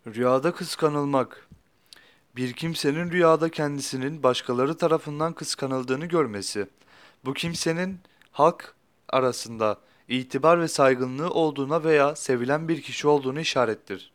Rüyada kıskanılmak. Bir kimsenin rüyada kendisinin başkaları tarafından kıskanıldığını görmesi, bu kimsenin halk arasında itibar ve saygınlığı olduğuna veya sevilen bir kişi olduğunu işarettir.